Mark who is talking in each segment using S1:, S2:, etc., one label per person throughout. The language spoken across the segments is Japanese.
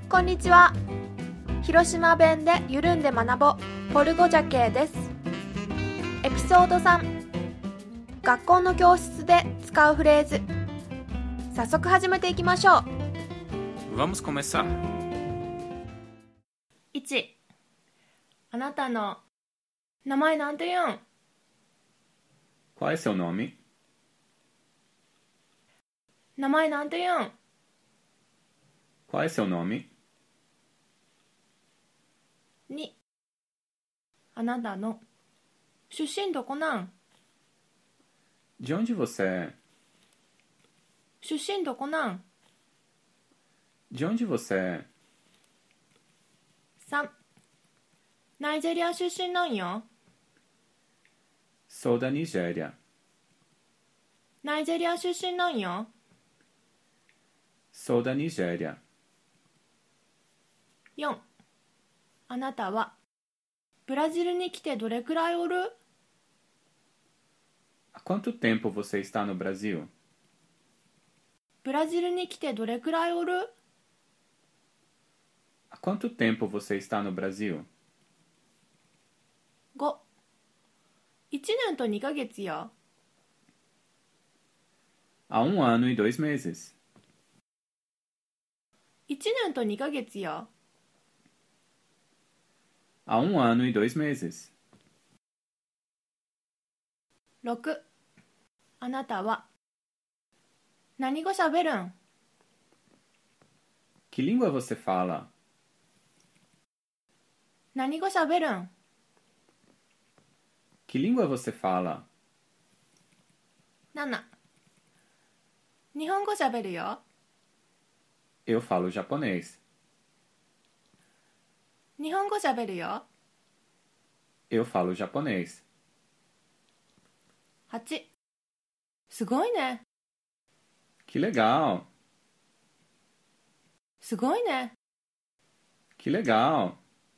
S1: こんにちは。広島弁で緩んで学ぼうポルゴジャケです。エピソード3、学校の教室で使うフレーズ。早速始めていきましょう。
S2: Vamos começar.
S1: 1、あなたの名前なんて言うん？
S2: Qual é seu nome?
S1: 名前なんて言うん？
S2: Qual é seu nome?
S1: 2、あなたの出身どこなん？
S2: De onde você é?
S1: 出身どこなん？
S2: De onde você é?
S1: 3、ナイジェリア出身なんよ。
S2: Sou da Nigéria.
S1: ナイジェリア出身なんよ。
S2: Sou da Nigéria.
S1: 4、あなたはブラジルに来てどれくらいおる？
S2: Há quanto tempo você está no Brasil?
S1: ブラジルに来てどれくらいおる？
S2: Há quanto tempo você está no Brasil?
S1: 5、1年と2ヶ月や。
S2: Há 1 ano e 2 meses.
S1: 1年と2ヶ月や。
S2: Há 1 ano e 2 meses.
S1: 6、あなたは何語しゃべるん？
S2: Que língua você fala?
S1: 何語しゃべるん？
S2: Que língua você fala?
S1: 7、日本語しゃべるよ。
S2: Eu falo japonês.
S1: 日本語しゃべるよ。
S2: Eu falo japonês.
S1: 8、すごいね。
S2: Que legal!
S1: すごいね。
S2: Que legal!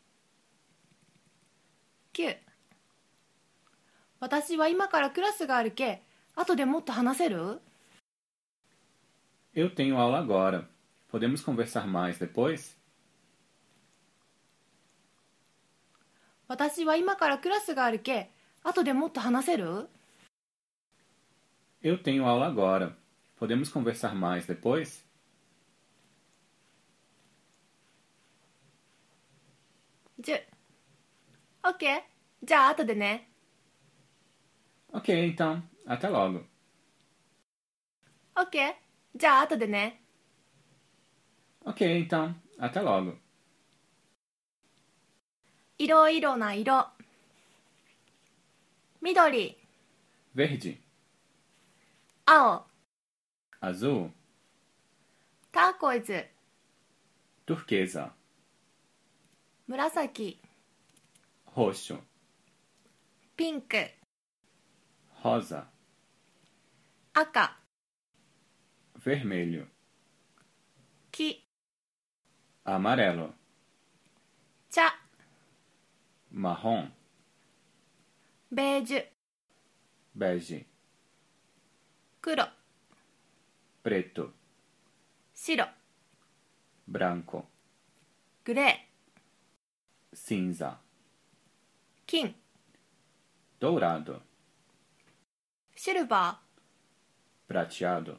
S1: 9、私は今からクラスがあるけ、後でもっと話せる？
S2: Eu tenho aula agora. Podemos conversar mais depois?
S1: 私は今からクラスがあるけ、後でもっと話せる？
S2: Eu tenho aula agora. Podemos conversar mais depois?
S1: 10、OK、じゃあ後でね。
S2: Ok, então. Até logo.
S1: OK、じゃあ後でね。
S2: Ok, então. Até logo.
S1: いろいろな色。緑、
S2: Verde,
S1: 青、
S2: azul,
S1: ターコイズ、
S2: turquesa,
S1: 紫、
S2: roxo,
S1: ピンク、
S2: rosa,
S1: 赤、
S2: vermelho,
S1: 黄、
S2: amarelo,
S1: 茶、
S2: marrom,
S1: ベージュ、
S2: bege,
S1: 黒、
S2: preto,
S1: 白、
S2: branco,
S1: グレ
S2: cinza,
S1: ー、金、
S2: dourado,
S1: シルバー。
S2: prateado.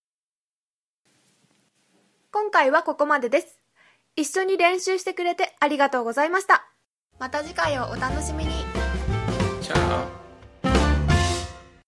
S1: 今回はここまでです。一緒に練習してくれてありがとうございました。また次回をお楽しみに。